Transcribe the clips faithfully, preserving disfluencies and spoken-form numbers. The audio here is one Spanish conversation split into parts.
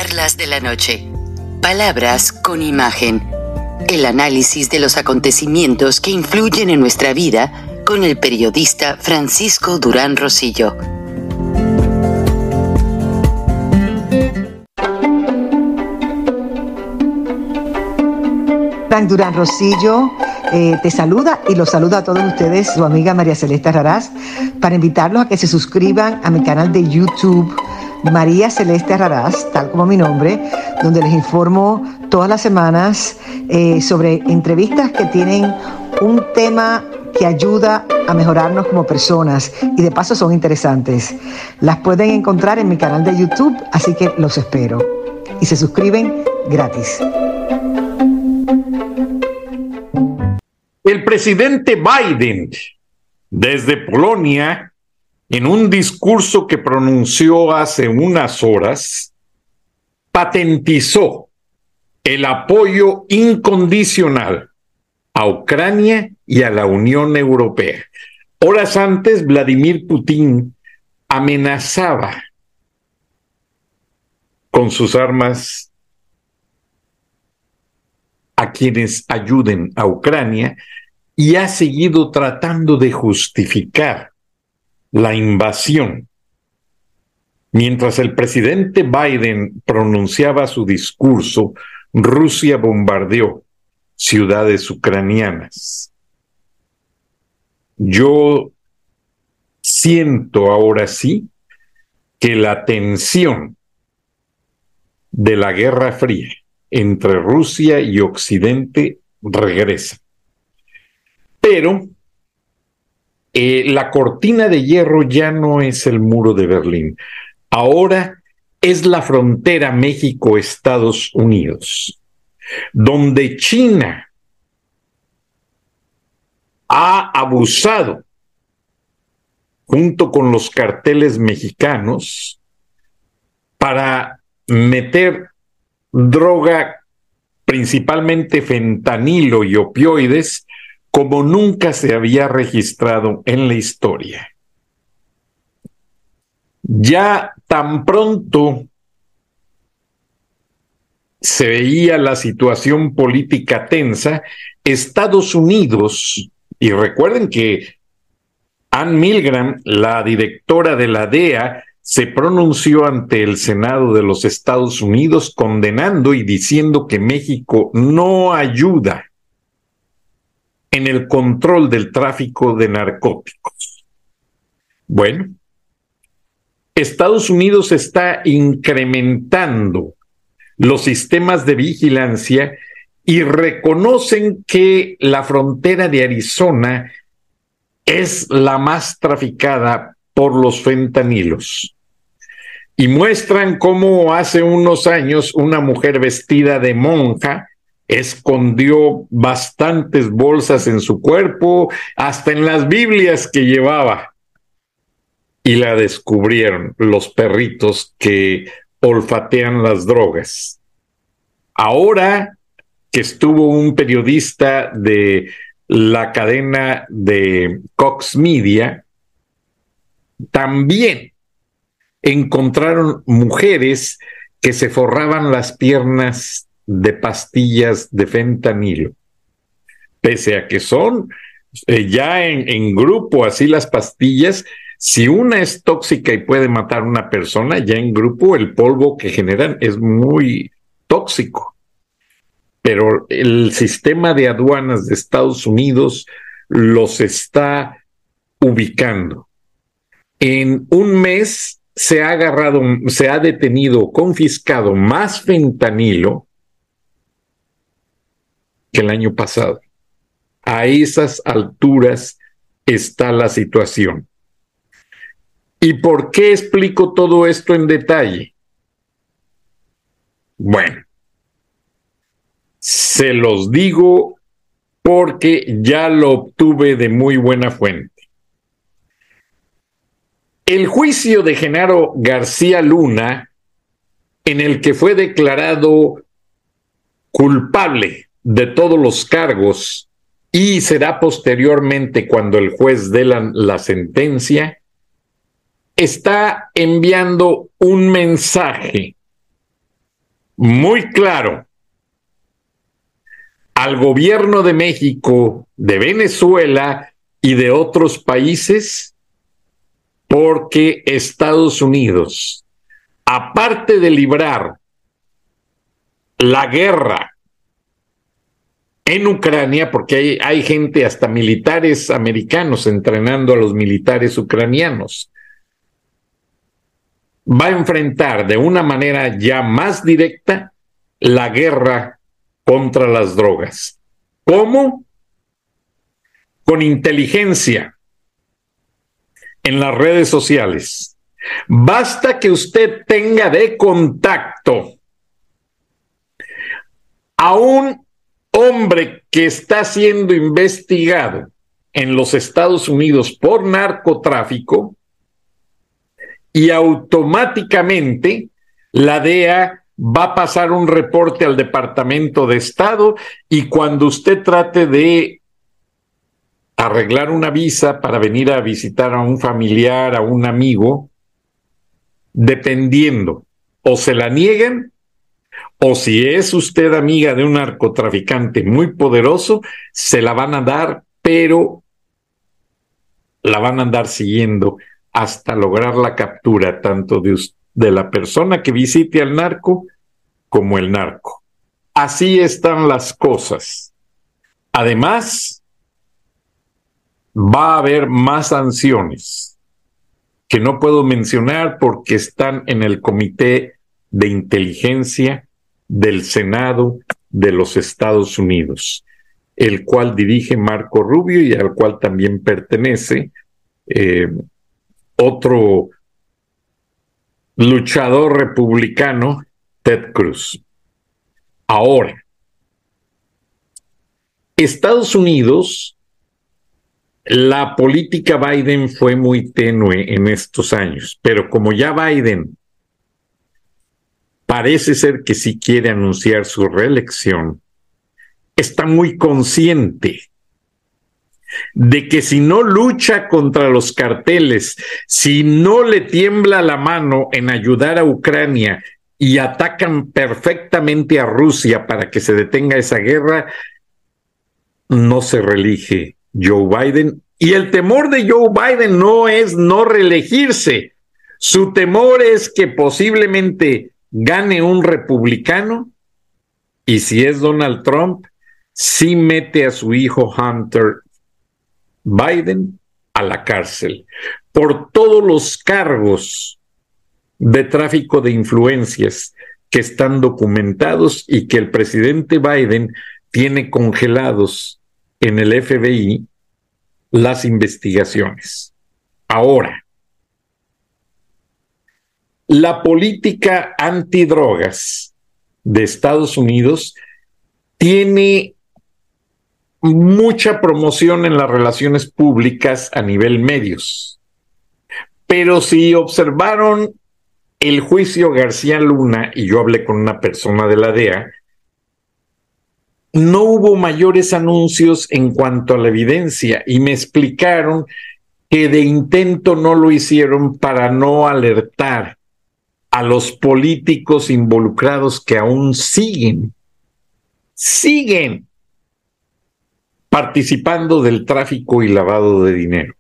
Charlas de la noche. Palabras con imagen. El análisis de los acontecimientos que influyen en nuestra vida con el periodista Francisco Durán Rosillo. Frank Durán Rosillo eh, te saluda y los saluda a todos ustedes, su amiga María Celeste Raraz, para invitarlos a que se suscriban a mi canal de YouTube, María Celeste Raraz, tal como mi nombre, donde les informo todas las semanas eh, sobre entrevistas que tienen un tema que ayuda a mejorarnos como personas y de paso son interesantes. Las pueden encontrar en mi canal de YouTube, así que los espero. Y se suscriben gratis. El presidente Biden, desde Polonia, en un discurso que pronunció hace unas horas, patentizó el apoyo incondicional a Ucrania y a la Unión Europea. Horas antes, Vladimir Putin amenazaba con sus armas a quienes ayuden a Ucrania y ha seguido tratando de justificar la invasión. Mientras el presidente Biden pronunciaba su discurso, Rusia bombardeó ciudades ucranianas. Yo siento ahora sí que la tensión de la Guerra Fría entre Rusia y Occidente regresa. Pero eh, la cortina de hierro ya no es el muro de Berlín. Ahora es la frontera México-Estados Unidos, donde China ha abusado, junto con los carteles mexicanos, para meter droga, principalmente fentanilo y opioides, como nunca se había registrado en la historia. Ya tan pronto se veía la situación política tensa, Estados Unidos, y recuerden que Ann Milgram, la directora de la D E A, se pronunció ante el Senado de los Estados Unidos condenando y diciendo que México no ayuda en el control del tráfico de narcóticos. Bueno, Estados Unidos está incrementando los sistemas de vigilancia y reconocen que la frontera de Arizona es la más traficada por los fentanilos. Y muestran cómo hace unos años una mujer vestida de monja escondió bastantes bolsas en su cuerpo, hasta en las Biblias que llevaba. Y la descubrieron los perritos que olfatean las drogas. Ahora que estuvo un periodista de la cadena de Cox Media, también encontraron mujeres que se forraban las piernas de pastillas de fentanilo. Pese a que son eh, ya en, en grupo así las pastillas, si una es tóxica y puede matar a una persona, ya en grupo el polvo que generan es muy tóxico. Pero el sistema de aduanas de Estados Unidos los está ubicando. En un mes se ha agarrado, se ha detenido, confiscado más fentanilo que el año pasado. A esas alturas está la situación. ¿Y por qué explico todo esto en detalle? Bueno, se los digo porque ya lo obtuve de muy buena fuente. El juicio de Genaro García Luna, en el que fue declarado culpable de todos los cargos y será posteriormente cuando el juez dé la, la sentencia, está enviando un mensaje muy claro al gobierno de México, de Venezuela y de otros países, porque Estados Unidos, aparte de librar la guerra en Ucrania, porque hay, hay gente, hasta militares americanos, entrenando a los militares ucranianos, va a enfrentar de una manera ya más directa la guerra contra las drogas. ¿Cómo? Con inteligencia en las redes sociales. Basta que usted tenga de contacto a un hombre que está siendo investigado en los Estados Unidos por narcotráfico y automáticamente la D E A va a pasar un reporte al Departamento de Estado, y cuando usted trate de arreglar una visa para venir a visitar a un familiar, a un amigo, dependiendo, o se la niegan, o si es usted amiga de un narcotraficante muy poderoso, se la van a dar, pero la van a andar siguiendo hasta lograr la captura tanto de, de la persona que visite al narco como el narco. Así están las cosas. Además, va a haber más sanciones que no puedo mencionar porque están en el Comité de Inteligencia del Senado de los Estados Unidos, el cual dirige Marco Rubio y al cual también pertenece eh, otro luchador republicano, Ted Cruz. Ahora, Estados Unidos, la política Biden fue muy tenue en estos años, pero como ya Biden parece ser que sí quiere anunciar su reelección, está muy consciente de que si no lucha contra los carteles, si no le tiembla la mano en ayudar a Ucrania y atacan perfectamente a Rusia para que se detenga esa guerra, no se reelige Joe Biden. Y el temor de Joe Biden no es no reelegirse. Su temor es que posiblemente gane un republicano, y si es Donald Trump, sí mete a su hijo Hunter Biden a la cárcel por todos los cargos de tráfico de influencias que están documentados y que el presidente Biden tiene congelados en el F B I las investigaciones. Ahora, la política antidrogas de Estados Unidos tiene mucha promoción en las relaciones públicas a nivel medios. Pero si observaron el juicio García Luna, y yo hablé con una persona de la D E A, no hubo mayores anuncios en cuanto a la evidencia, y me explicaron que de intento no lo hicieron para no alertar a los políticos involucrados que aún siguen, siguen participando del tráfico y lavado de dinero.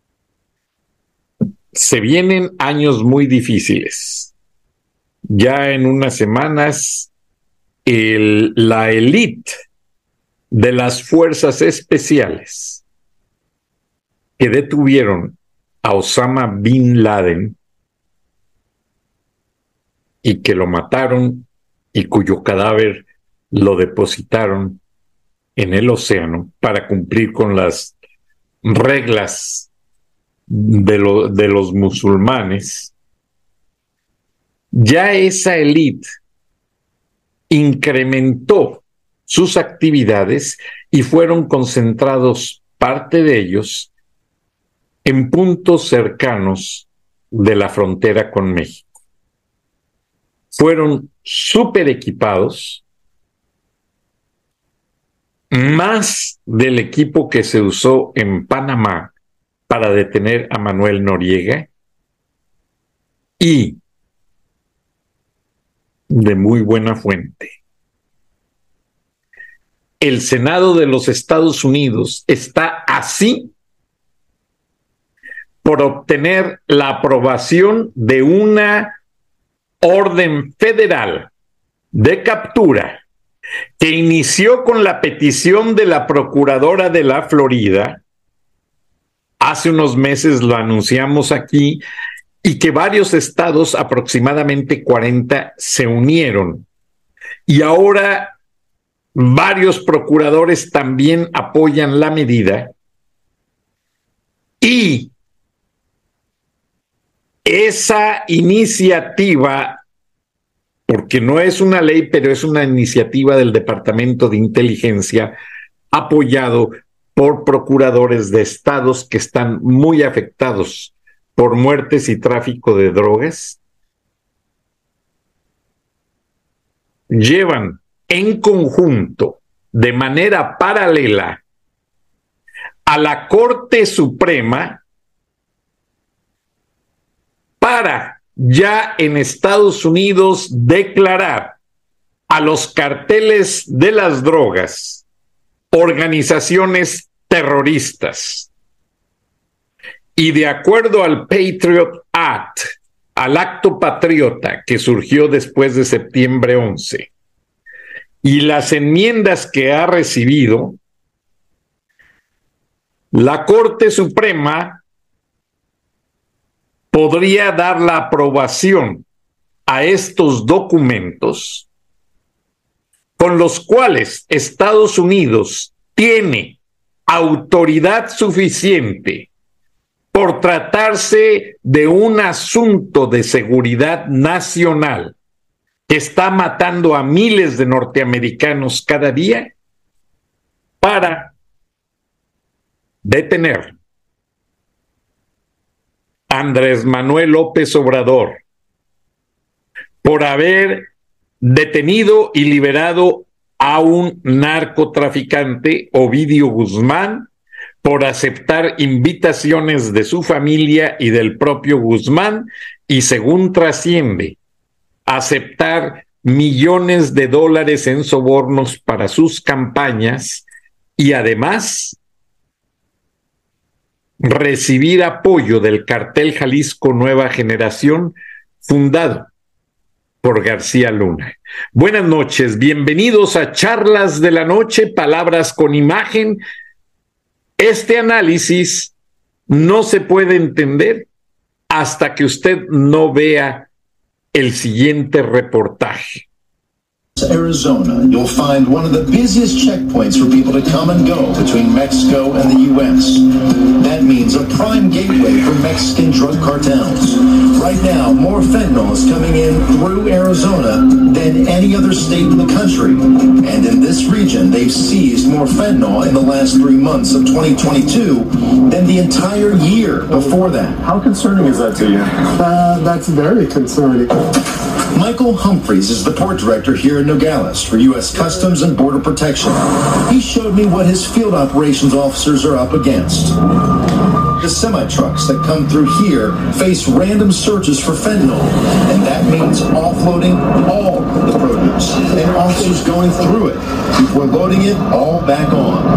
Se vienen años muy difíciles. Ya en unas semanas, el, la élite de las fuerzas especiales que detuvieron a Osama Bin Laden y que lo mataron y cuyo cadáver lo depositaron en el océano para cumplir con las reglas de, lo, de los musulmanes, ya esa élite incrementó sus actividades y fueron concentrados parte de ellos en puntos cercanos de la frontera con México. Fueron súper equipados, más del equipo que se usó en Panamá para detener a Manuel Noriega, y de muy buena fuente. El Senado de los Estados Unidos está así por obtener la aprobación de una orden federal de captura que inició con la petición de la procuradora de la Florida. Hace unos meses lo anunciamos aquí, y que varios estados, aproximadamente cuarenta, se unieron. Y ahora varios procuradores también apoyan la medida. Y esa iniciativa, porque no es una ley, pero es una iniciativa del Departamento de Inteligencia, apoyado por procuradores de estados que están muy afectados por muertes y tráfico de drogas, llevan en conjunto, de manera paralela, a la Corte Suprema para ya en Estados Unidos declarar a los carteles de las drogas organizaciones terroristas. Y de acuerdo al Patriot Act, al acto patriota que surgió después de septiembre once, y las enmiendas que ha recibido, la Corte Suprema podría dar la aprobación a estos documentos con los cuales Estados Unidos tiene autoridad suficiente por tratarse de un asunto de seguridad nacional que está matando a miles de norteamericanos cada día, para detener a Andrés Manuel López Obrador por haber detenido y liberado a un narcotraficante, Ovidio Guzmán, por aceptar invitaciones de su familia y del propio Guzmán, y según trasciende, aceptar millones de dólares en sobornos para sus campañas y además recibir apoyo del cartel Jalisco Nueva Generación, fundado por García Luna. Buenas noches, bienvenidos a Charlas de la Noche, Palabras con Imagen. Este análisis no se puede entender hasta que usted no vea el siguiente reportaje. Arizona, you'll find one of the busiest checkpoints for people to come and go between Mexico and the U S. That means a prime gateway for Mexican drug cartels. Right now, more fentanyl is coming in through Arizona than any other state in the country. And in this region, they've seized more fentanyl in the last three months of twenty twenty-two than the entire year before that. How concerning is that to you? Uh, that's very concerning. Michael Humphreys is the port director here in Nogales for U S Customs and Border Protection. He showed me what his field operations officers are up against. The semi-trucks that come through here face random searches for fentanyl, and that means offloading all the produce, and officers going through it before loading it all back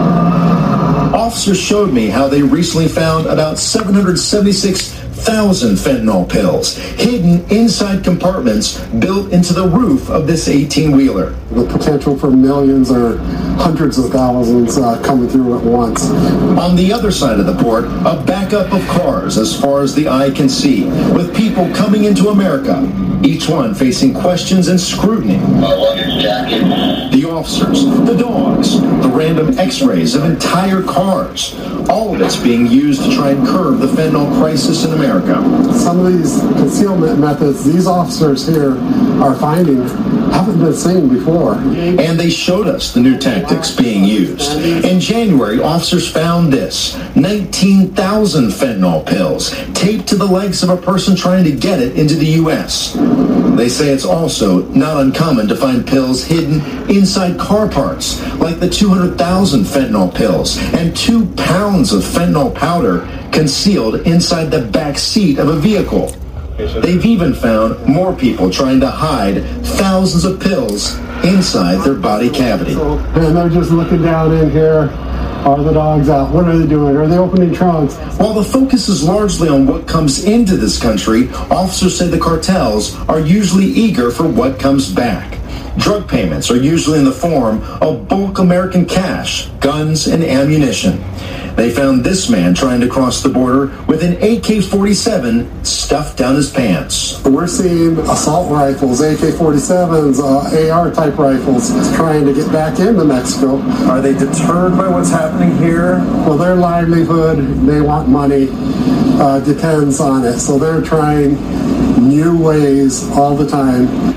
on. Officers showed me how they recently found about seven hundred seventy-six thousand fentanyl pills hidden inside compartments built into the roof of this eighteen-wheeler. The potential for millions or hundreds of thousands uh, coming through at once. On the other side of the port, a backup of cars as far as the eye can see, with people coming into America, each one facing questions and scrutiny. My luggage jacket. The officers, the dogs, the random x-rays of entire cars. All of it's being used to try and curb the fentanyl crisis in America. Some of these concealment methods these officers here are finding haven't been seen before. And they showed us the new tactics being used. In January, officers found this, nineteen thousand fentanyl pills taped to the legs of a person trying to get it into the U S. They say it's also not uncommon to find pills hidden inside car parts, like the two hundred thousand fentanyl pills and two pounds of fentanyl powder concealed inside the back seat of a vehicle. They've even found more people trying to hide thousands of pills inside their body cavity. And they're just looking down in here. Are the dogs out? What are they doing? Are they opening trunks? While the focus is largely on what comes into this country, officers say the cartels are usually eager for what comes back. Drug payments are usually in the form of bulk American cash, guns, and ammunition. They found this man trying to cross the border with an A K forty-seven stuffed down his pants. We're seeing assault rifles, A K forty-sevens, uh, A R-type rifles, trying to get back into Mexico. Are they deterred by what's happening here? Well, their livelihood, they want money, uh, depends on it. So they're trying new ways all the time.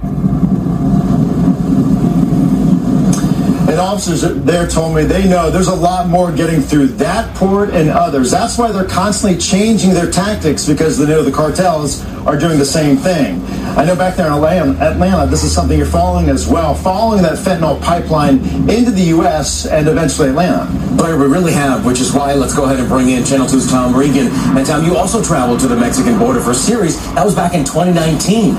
And officers there told me they know there's a lot more getting through that port and others. That's why they're constantly changing their tactics, because they know the cartels are doing the same thing. I know back there in Atlanta, this is something you're following as well, following that fentanyl pipeline into the U S and eventually Atlanta. Blair, we really have, which is why let's go ahead and bring in Channel two's Tom Regan. And Tom, you also traveled to the Mexican border for a series. That was back in twenty nineteen.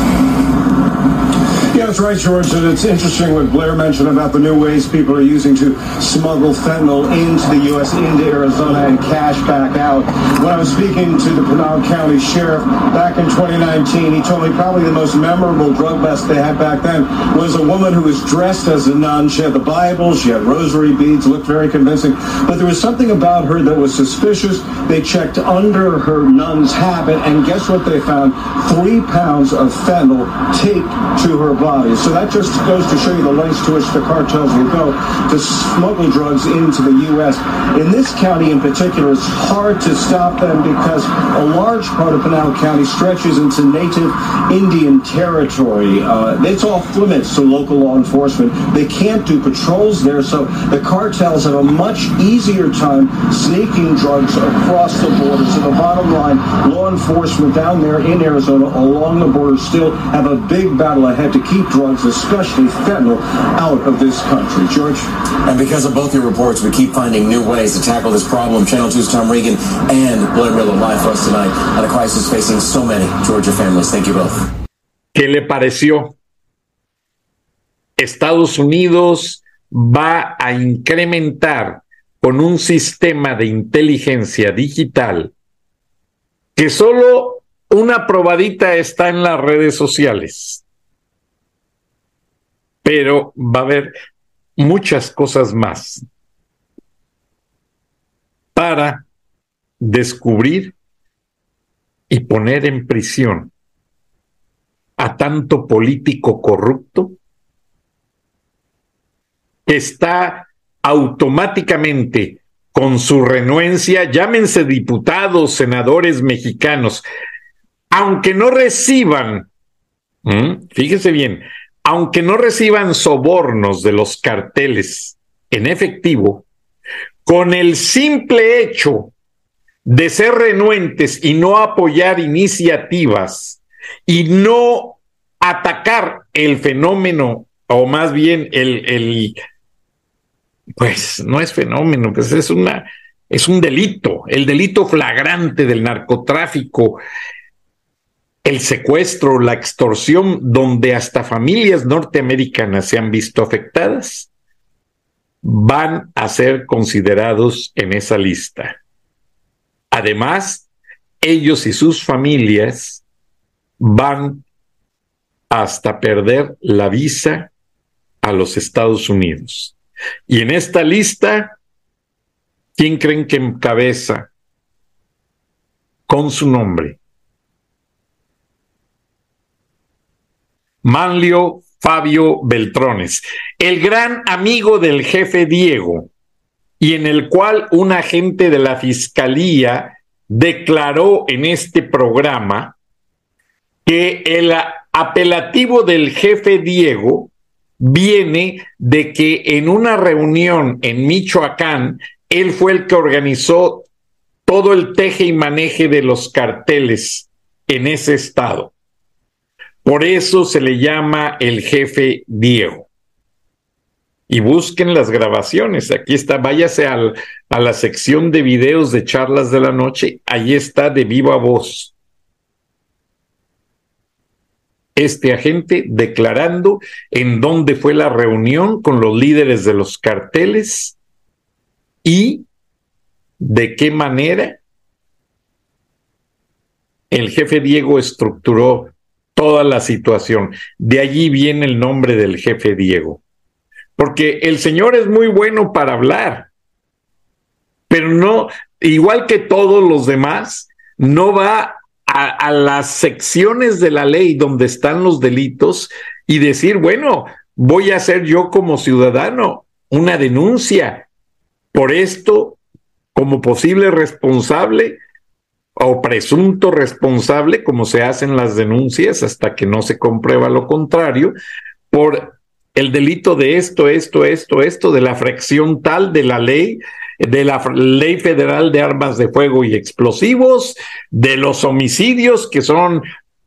Yeah, that's right, George. And it's interesting what Blair mentioned about the new ways people are using to smuggle fentanyl into the U S, into Arizona, and cash back out. When I was speaking to the Pinal County Sheriff back in twenty nineteen, he told me probably the most memorable drug bust they had back then was a woman who was dressed as a nun. She had the Bible, she had rosary beads, looked very convincing, but there was something about her that was suspicious. They checked under her nun's habit, and guess what they found? Three pounds of fentanyl taped to her body. So that just goes to show you the lengths to which the cartels will go to smuggle drugs into the U S. In this county in particular, it's hard to stop them because a large part of Pinal County stretches into native Indian territory. Uh, it's off limits to local law enforcement. They can't do patrols there, so the cartels have a much easier time sneaking drugs across the border. So the bottom line, law enforcement down there in Arizona along the border still have a big battle ahead to keep drugs, especially fentanyl, out of this country. George? And because of both your reports, we keep finding new ways to tackle this problem. Channel two's Tom Regan and Blair Miller live for us tonight on a crisis facing so many Georgia families. Thank you both. ¿Qué le pareció? Estados Unidos va a incrementar con un sistema de inteligencia digital que solo una probadita está en las redes sociales. Pero va a haber muchas cosas más para descubrir y poner en prisión a tanto político corrupto que está automáticamente con su renuencia, llámense diputados, senadores mexicanos, aunque no reciban, ¿m? fíjese bien, aunque no reciban sobornos de los carteles en efectivo, con el simple hecho de ser renuentes y no apoyar iniciativas y no atacar el fenómeno, o más bien el, el pues no es fenómeno, pues es una, es un delito, el delito flagrante del narcotráfico, el secuestro, la extorsión, donde hasta familias norteamericanas se han visto afectadas, van a ser considerados en esa lista. Además, ellos y sus familias van hasta perder la visa a los Estados Unidos. Y en esta lista, ¿quién creen que encabeza con su nombre? Manlio Fabio Beltrones, el gran amigo del jefe Diego, y en el cual un agente de la Fiscalía declaró en este programa que el apelativo del jefe Diego viene de que en una reunión en Michoacán, él fue el que organizó todo el teje y maneje de los carteles en ese estado. Por eso se le llama el jefe Diego. Y busquen las grabaciones. Aquí está, váyase al, a la sección de videos de charlas de la noche. Ahí está de viva voz. este agente declarando en dónde fue la reunión con los líderes de los carteles y de qué manera el jefe Diego estructuró toda la situación. De allí viene el nombre del jefe Diego. Porque el señor es muy bueno para hablar, pero no, igual que todos los demás, no va a, a las secciones de la ley donde están los delitos y decir, bueno, voy a hacer yo como ciudadano una denuncia por esto como posible responsable o presunto responsable, como se hacen las denuncias hasta que no se comprueba lo contrario, por el delito de esto, esto, esto, esto, de la fracción tal de la ley, de la Ley Federal de Armas de Fuego y Explosivos, de los homicidios, que son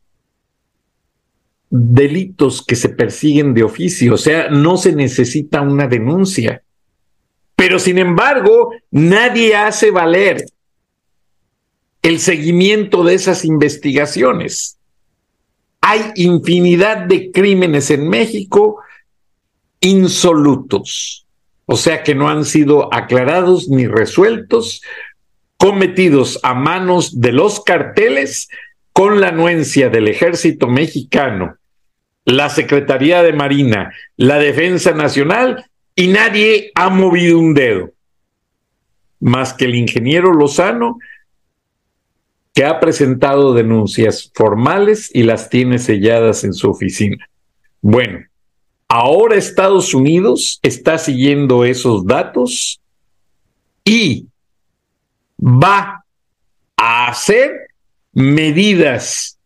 delitos que se persiguen de oficio, o sea, no se necesita una denuncia. Pero sin embargo, nadie hace valer el seguimiento de esas investigaciones. Hay infinidad de crímenes en México insolutos, o sea que no han sido aclarados ni resueltos, cometidos a manos de los carteles con la anuencia del Ejército Mexicano, la Secretaría de Marina, la Defensa Nacional, y nadie ha movido un dedo, más que el ingeniero Lozano, que ha presentado denuncias formales y las tiene selladas en su oficina. Bueno, ahora Estados Unidos está siguiendo esos datos y va a hacer medidas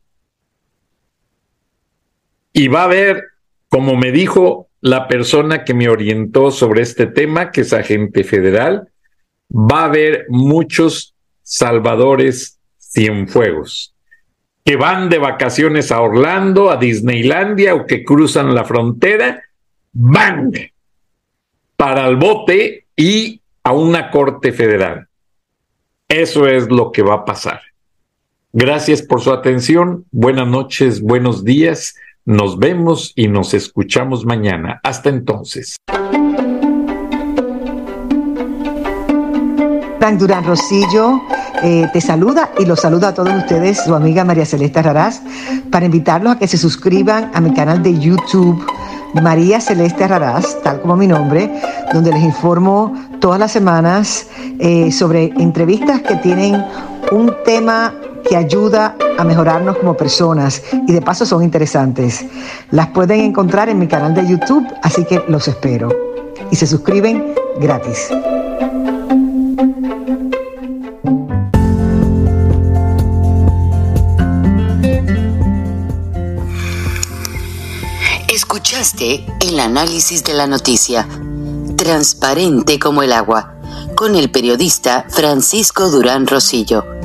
y va a haber, como me dijo la persona que me orientó sobre este tema, que es agente federal, va a haber muchos salvadores cienfuegos que van de vacaciones a Orlando, a Disneylandia, o que cruzan la frontera, van para el bote y a una corte federal. Eso es lo que va a pasar. Gracias por su atención. Buenas noches, buenos días. Nos vemos y nos escuchamos mañana. Hasta entonces. Frank Durán Rosillo eh, te saluda y los saluda a todos ustedes, su amiga María Celeste Raraz, para invitarlos a que se suscriban a mi canal de YouTube, María Celeste Raraz, tal como mi nombre, donde les informo todas las semanas eh, sobre entrevistas que tienen un tema que ayuda a mejorarnos como personas y de paso son interesantes. Las pueden encontrar en mi canal de YouTube, así que los espero. Y se suscriben gratis. Escuchaste el análisis de la noticia, transparente como el agua, con el periodista Francisco Durán Rosillo.